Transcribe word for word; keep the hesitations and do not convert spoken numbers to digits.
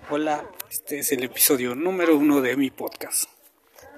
Hola, este es el episodio número uno de mi podcast.